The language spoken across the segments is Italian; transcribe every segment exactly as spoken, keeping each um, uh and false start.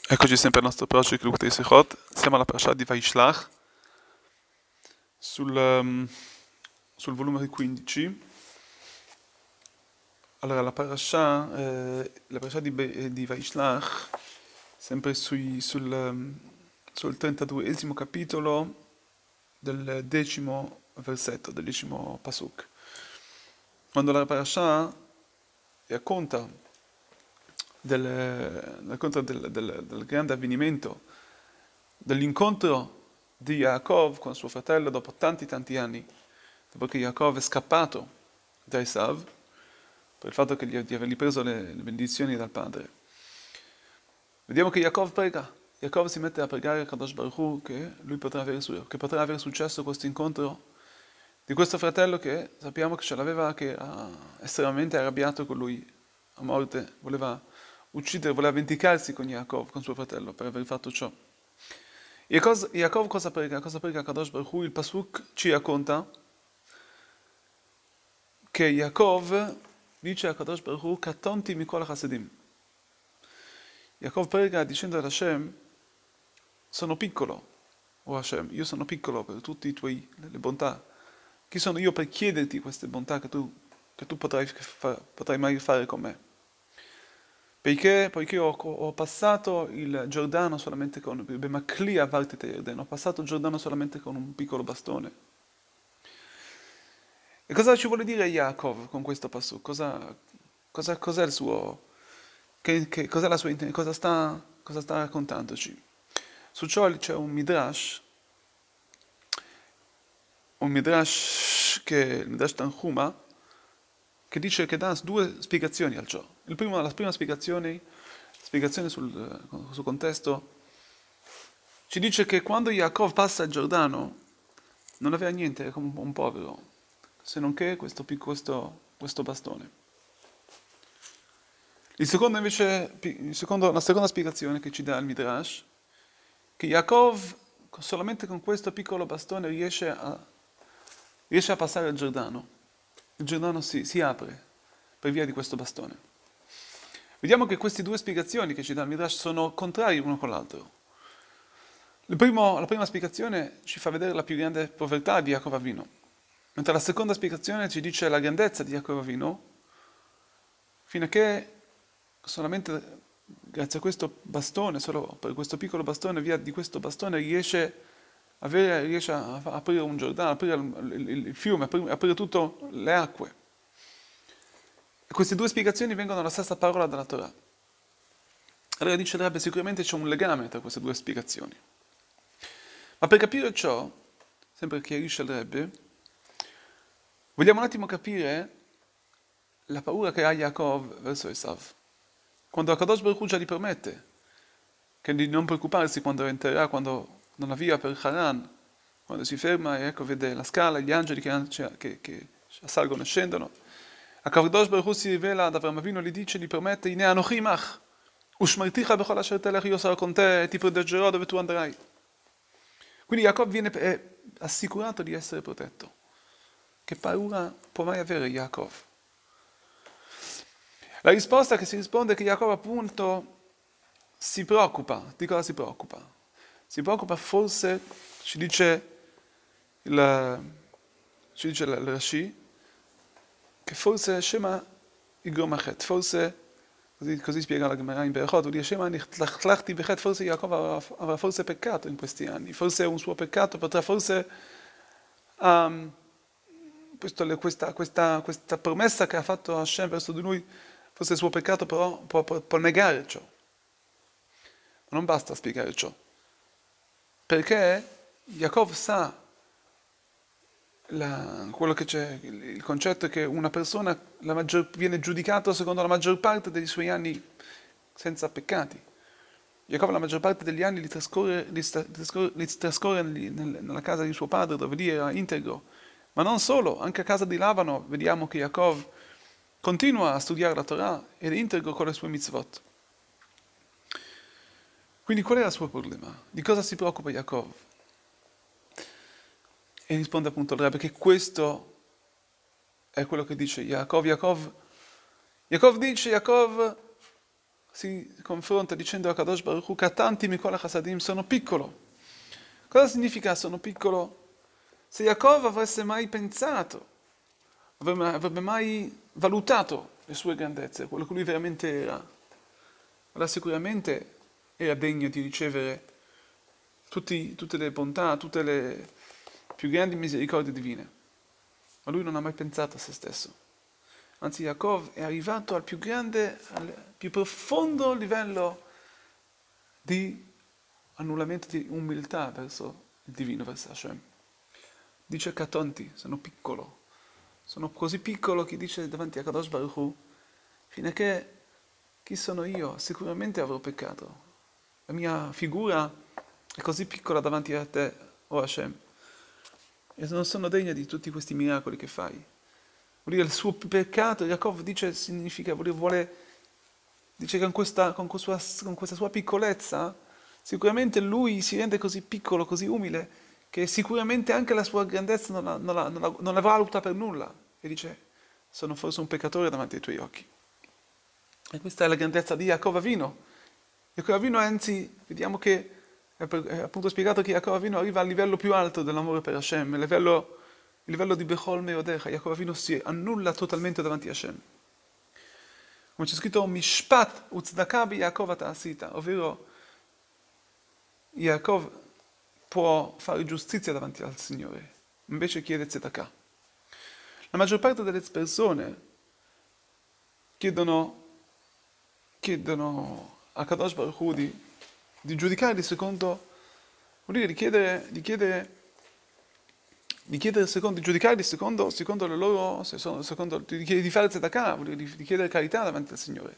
Eccoci sempre al nostro project Lukutei Sechot. Siamo alla parasha di Vaishlach, sul, um, sul volume quindici. Allora, la parasha, eh, la parasha di, Be- di Vaishlach, sempre sui, sul, um, sul trentaduesimo capitolo del decimo versetto, del decimo pasuk. Quando la parasha racconta del, racconta del, del, del grande avvenimento, dell'incontro di Yaakov con suo fratello dopo tanti tanti anni, dopo che Yaakov è scappato da Esav, per il fatto che gli, di avergli preso le, le benedizioni dal padre. Vediamo che Yaakov prega, Yaakov si mette a pregare a Kadosh Baruch Hu che lui potrà avere, che potrà avere successo questo incontro di questo fratello che sappiamo che ce l'aveva, che era estremamente arrabbiato con lui a morte, voleva uccidere, voleva vendicarsi con Yaakov, con suo fratello, per aver fatto ciò. Yaakov, Yaakov cosa prega? Cosa prega Kadosh Baruch Hu? Il Pasuk ci racconta che Yaakov dice a Kadosh Baruch Hu, Katonti mikol chasedim. Yaakov prega dicendo ad Hashem, sono piccolo, o Hashem, io sono piccolo per tutte i tuoi, le bontà. Chi sono io per chiederti queste bontà che tu, che tu potrai, fa, potrai mai fare con me? Perché, poiché ho, ho passato il Giordano solamente con ho passato il Giordano solamente con un piccolo bastone. E cosa ci vuole dire Yaakov con questo passo? Cosa, cosa, cos'è il suo, che, che, cos'è la sua intenzione? Cosa sta, cosa sta raccontandoci? Su ciò c'è un midrash, un midrash che il midrash Tanhuma, che dice che dà due spiegazioni al ciò. Il primo, la prima spiegazione, spiegazione sul, sul contesto, ci dice che quando Yaakov passa il Giordano non aveva niente, era come un povero, se non che questo, questo, questo bastone. Il secondo invece, il secondo, la seconda spiegazione che ci dà il Midrash, che Yaakov solamente con questo piccolo bastone riesce a, riesce a passare il Giordano. Il Giordano si, si apre per via di questo bastone. Vediamo che queste due spiegazioni che ci dà il Midrash sono contrarie l'uno con l'altro. Il primo, la prima spiegazione ci fa vedere la più grande povertà di Yaakov Avinu, mentre la seconda spiegazione ci dice la grandezza di Yaakov Avinu, fino a che solamente grazie a questo bastone, solo per questo piccolo bastone, via di questo bastone riesce, avere, riesce a aprire un Giordano, aprire il, il, il fiume, aprire, aprire tutte le acque. E queste due spiegazioni vengono dalla stessa parola della Torah. Allora dice il Rebbe, sicuramente c'è un legame tra queste due spiegazioni. Ma per capire ciò, sempre chiarisce il Rebbe, vogliamo un attimo capire la paura che ha Yaakov verso Esav. Quando Akadosh Baruch Hu già gli promette che di non preoccuparsi quando entrerà, quando non avvia per Haran, quando si ferma e ecco vede la scala, gli angeli che, che, che salgono e scendono, Akadosh Baruch Hu si rivela ad Avram Avinu, gli dice, gli promette, Ine anochi mach, ushmarticha bechol asher telech, io sarò con te e ti proteggerò dove tu andrai. Quindi Jacob viene è assicurato di essere protetto. Che paura può mai avere Jacob? La risposta che si risponde è che Jacob appunto si preoccupa. Di cosa si preoccupa? Si preoccupa forse, ci dice il, ci dice il Rashi, che forse Shema Igromachet, forse, così, così spiega la Gemara in Berachot, vuol dire Shema Nichlachti Bechet, forse Jacob avrà, avrà forse peccato in questi anni, forse un suo peccato potrà forse, um, questo, questa, questa, questa promessa che ha fatto Hashem verso di lui, forse il suo peccato però può, può, può negare ciò. Ma non basta spiegare ciò, perché Jacob sa La, quello che c'è, il, il concetto è che una persona la maggior, viene giudicato secondo la maggior parte dei suoi anni senza peccati. Giacobbe la maggior parte degli anni li trascorre, li trascorre, li trascorre nel, nella casa di suo padre, dove lì era integro. Ma non solo, anche a casa di Lavano vediamo che Jacob continua a studiare la Torah ed è integro con le sue mitzvot. Quindi qual è il suo problema? Di cosa si preoccupa Jacob? E risponde appunto il Rebbe che questo è quello che dice Yaakov. Yaakov, Yaakov dice, Yaakov si confronta dicendo a Kadosh Baruch Hu, Katanti mikol hasadim, sono piccolo. Cosa significa sono piccolo? Se Yaakov avesse mai pensato, avrebbe, avrebbe mai valutato le sue grandezze, quello che lui veramente era, allora sicuramente era degno di ricevere tutti, tutte le bontà, tutte le più grandi misericordie divine. Ma lui non ha mai pensato a se stesso. Anzi, Yaakov è arrivato al più grande, al più profondo livello di annullamento di umiltà verso il divino, verso Hashem. Dice Katonti, sono piccolo. Sono così piccolo che dice davanti a Kadosh Baruch Hu, fino a che chi sono io? Sicuramente avrò peccato. La mia figura è così piccola davanti a te, o Hashem. E non sono degna di tutti questi miracoli che fai. Vuol dire il suo peccato, Yaakov dice, significa, vuol dire, vuole, dice che con questa, con, questa, con questa sua piccolezza, sicuramente lui si rende così piccolo, così umile, che sicuramente anche la sua grandezza non la, non la, non la, non la valuta per nulla. E dice, sono forse un peccatore davanti ai tuoi occhi. E questa è la grandezza di Yaakov Avinu. Yaakov Avinu, anzi, vediamo che è, per, è appunto spiegato che Yaakov Avinu arriva al livello più alto dell'amore per Hashem, il livello, il livello di Bechol Meodecha. Yaakov Avinu si annulla totalmente davanti a Hashem. Come c'è scritto, Mishpat uzdaka bi Yaakov ta'asita, ovvero Yaakov può fare giustizia davanti al Signore, invece chiede tzedakah. La maggior parte delle persone chiedono, chiedono a Kadosh Baruch Hu di, di giudicarli secondo, vuol dire di chiedere, di chiedere, di chiedere secondo, di giudicarli secondo, secondo le loro, secondo, di, di fare tzedakah, vuol dire di, di chiedere carità davanti al Signore.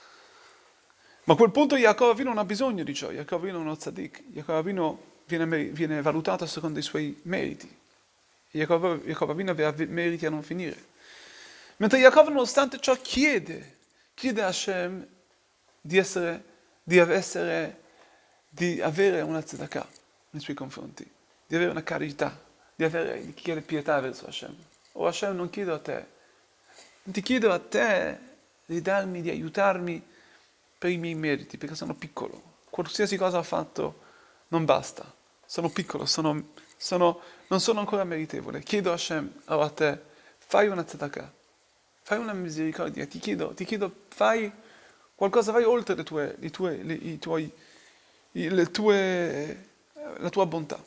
Ma a quel punto Yaakov Avinu non ha bisogno di ciò, Yaakov Avinu è uno tzaddik, Yaakov Avinu viene, viene valutato secondo i suoi meriti. Yaakov, Yaakov Avinu aveva meriti a non finire. Mentre Yaakov, nonostante ciò, chiede, chiede a Hashem di essere, di essere, di avere una tzedakah nei suoi confronti, di avere una carità, di avere, di chiedere pietà verso Hashem. O Hashem, non chiedo a te, non ti chiedo a te di darmi, di aiutarmi per i miei meriti, perché sono piccolo. Qualsiasi cosa ho fatto non basta. Sono piccolo, sono, sono, non sono ancora meritevole. Chiedo a Hashem, allora a te, fai una tzedakah, fai una misericordia, ti chiedo, ti chiedo, fai qualcosa, vai oltre le tue, le tue, le, i tuoi, le tue, la tua bontà.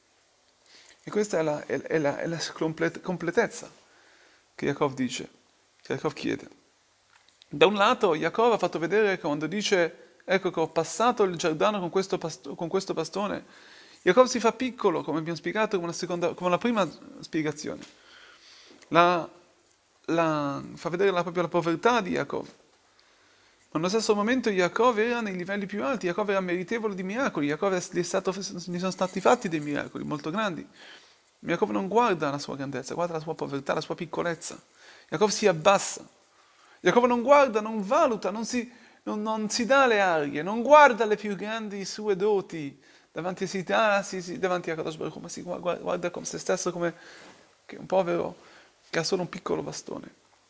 E questa è la, è, è la, è la complet, completezza che Yaakov dice, che Yaakov chiede. Da un lato Yaakov ha fatto vedere quando dice, ecco che ho passato il Giordano con questo, pasto, con questo bastone, Yaakov si fa piccolo, come abbiamo spiegato come la, seconda, come la prima spiegazione. La, la, fa vedere la, proprio la povertà di Yaakov. Ma nello stesso momento Yaakov era nei livelli più alti, Yaakov era meritevole di miracoli, Yaakov è stato, gli sono stati fatti dei miracoli molto grandi. Yaakov non guarda la sua grandezza, guarda la sua povertà, la sua piccolezza. Yaakov si abbassa. Yaakov non guarda, non valuta, non si, non, non si dà le arie, non guarda le più grandi sue doti davanti a, si, ah, sì, sì, davanti a Kadosh Baruch Hu, ma si guarda, guarda come se stesso come che un povero che ha solo un piccolo bastone.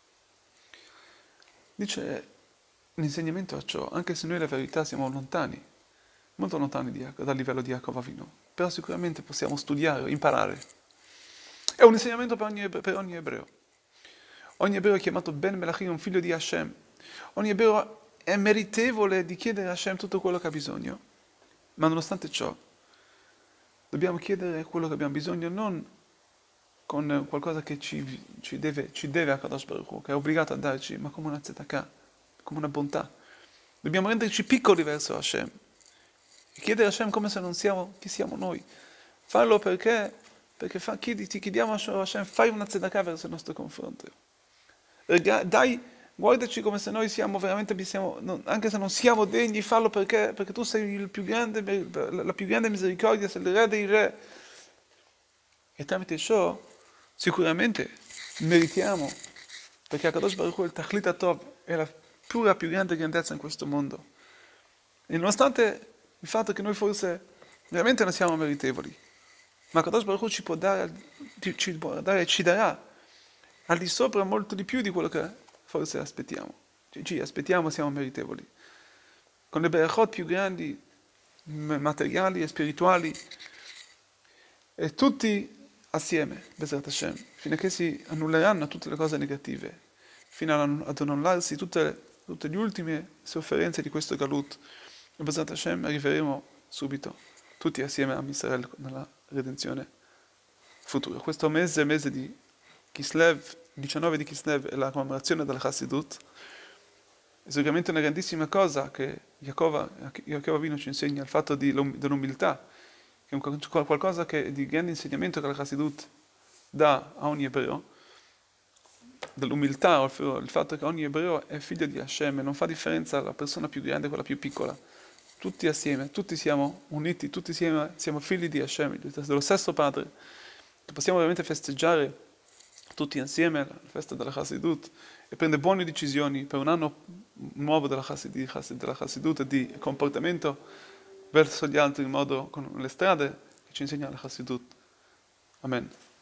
Dice l'insegnamento a ciò, anche se noi la verità siamo lontani, molto lontani di, dal livello di Yaakov Avinu, però sicuramente possiamo studiare, imparare. È un insegnamento per ogni, per ogni ebreo. Ogni ebreo è chiamato Ben Melachim, un figlio di Hashem. Ogni ebreo è meritevole di chiedere a Hashem tutto quello che ha bisogno. Ma nonostante ciò, dobbiamo chiedere quello che abbiamo bisogno non con qualcosa che ci, ci, deve, ci deve a Kadosh Baruch Hu, che è obbligato a darci, ma come una tzedakah, come una bontà. Dobbiamo renderci piccoli verso Hashem. E chiedere a Hashem come se non siamo chi siamo noi. Farlo perché, perché fa, chiedi, ti chiediamo a Hashem, fai una tzedakah verso il nostro confronto. Dai, guardaci come se noi siamo veramente, siamo, non, anche se non siamo degni, fallo perché, perché tu sei il più grande, la più grande misericordia, sei il re dei re. E tramite ciò, sicuramente, meritiamo, perché Kadosh Baruch Hu, il Tachlit HaTov, è la pura più grande grandezza in questo mondo. E nonostante il fatto che noi forse veramente non siamo meritevoli, ma Kadosh Baruch Hu ci può dare, ci, ci può dare, ci darà al di sopra molto di più di quello che forse aspettiamo. Ci, ci aspettiamo, siamo meritevoli. con le berachot più grandi, materiali e spirituali, e tutti assieme, Bezrat Hashem, fino a che si annulleranno tutte le cose negative, fino ad annullarsi tutte, tutte le ultime sofferenze di questo Galut. E Bezrat Hashem arriveremo subito, tutti assieme a Israele nella redenzione futura. Questo mese, mese di Kislev, diciannove di Kislev, è la commemorazione della Chassidut. È sicuramente una grandissima cosa che Yaakov Avinu ci insegna, il fatto di, dell'umiltà, che è un, qualcosa che, di grande insegnamento che la Chassidut dà a ogni ebreo, dell'umiltà, il fatto che ogni ebreo è figlio di Hashem e non fa differenza la persona più grande e quella più piccola. Tutti assieme, tutti siamo uniti, tutti siamo, siamo figli di Hashem, dello stesso Padre, che possiamo veramente festeggiare tutti insieme la festa della Chassidut e prendere buone decisioni per un anno nuovo della Chassidut, della Chassidut e di comportamento verso gli altri in modo con le strade che ci insegna la Chassidut. Amen.